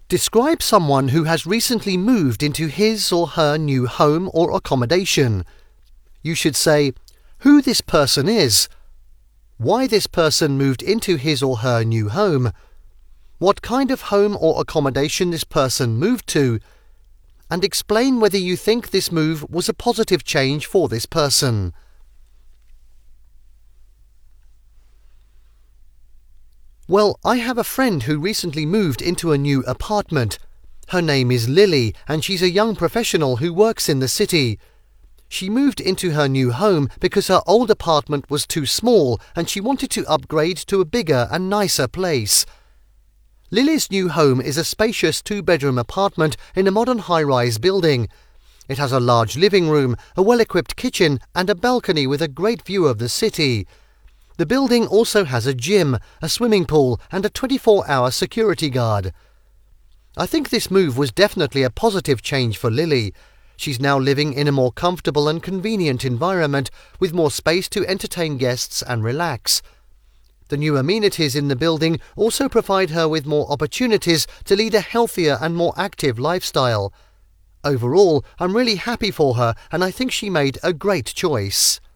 Describe someone who has recently moved into his or her new home or accommodation. You should say who this person is, why this person moved into his or her new home, what kind of home or accommodation this person moved to, and explain whether you think this move was a positive change for this person. Well, I have a friend who recently moved into a new apartment. Her name is Lily, and she's a young professional who works in the city. She moved into her new home because her old apartment was too small and she wanted to upgrade to a bigger and nicer place. Lily's new home is a spacious two-bedroom apartment in a modern high-rise building. It has a large living room, a well-equipped kitchen and a balcony with a great view of the city. The building also has a gym, a swimming pool and a 24-hour security guard. I think this move was definitely a positive change for Lily. She's now living in a more comfortable and convenient environment with more space to entertain guests and relax. The new amenities in the building also provide her with more opportunities to lead a healthier and more active lifestyle. Overall, I'm really happy for her and I think she made a great choice.